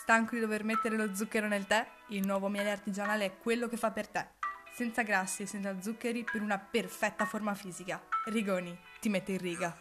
Stanco di dover mettere lo zucchero nel tè? Il nuovo miele artigianale è quello che fa per te. Senza grassi e senza zuccheri per una perfetta forma fisica. Rigoni, ti mette in riga.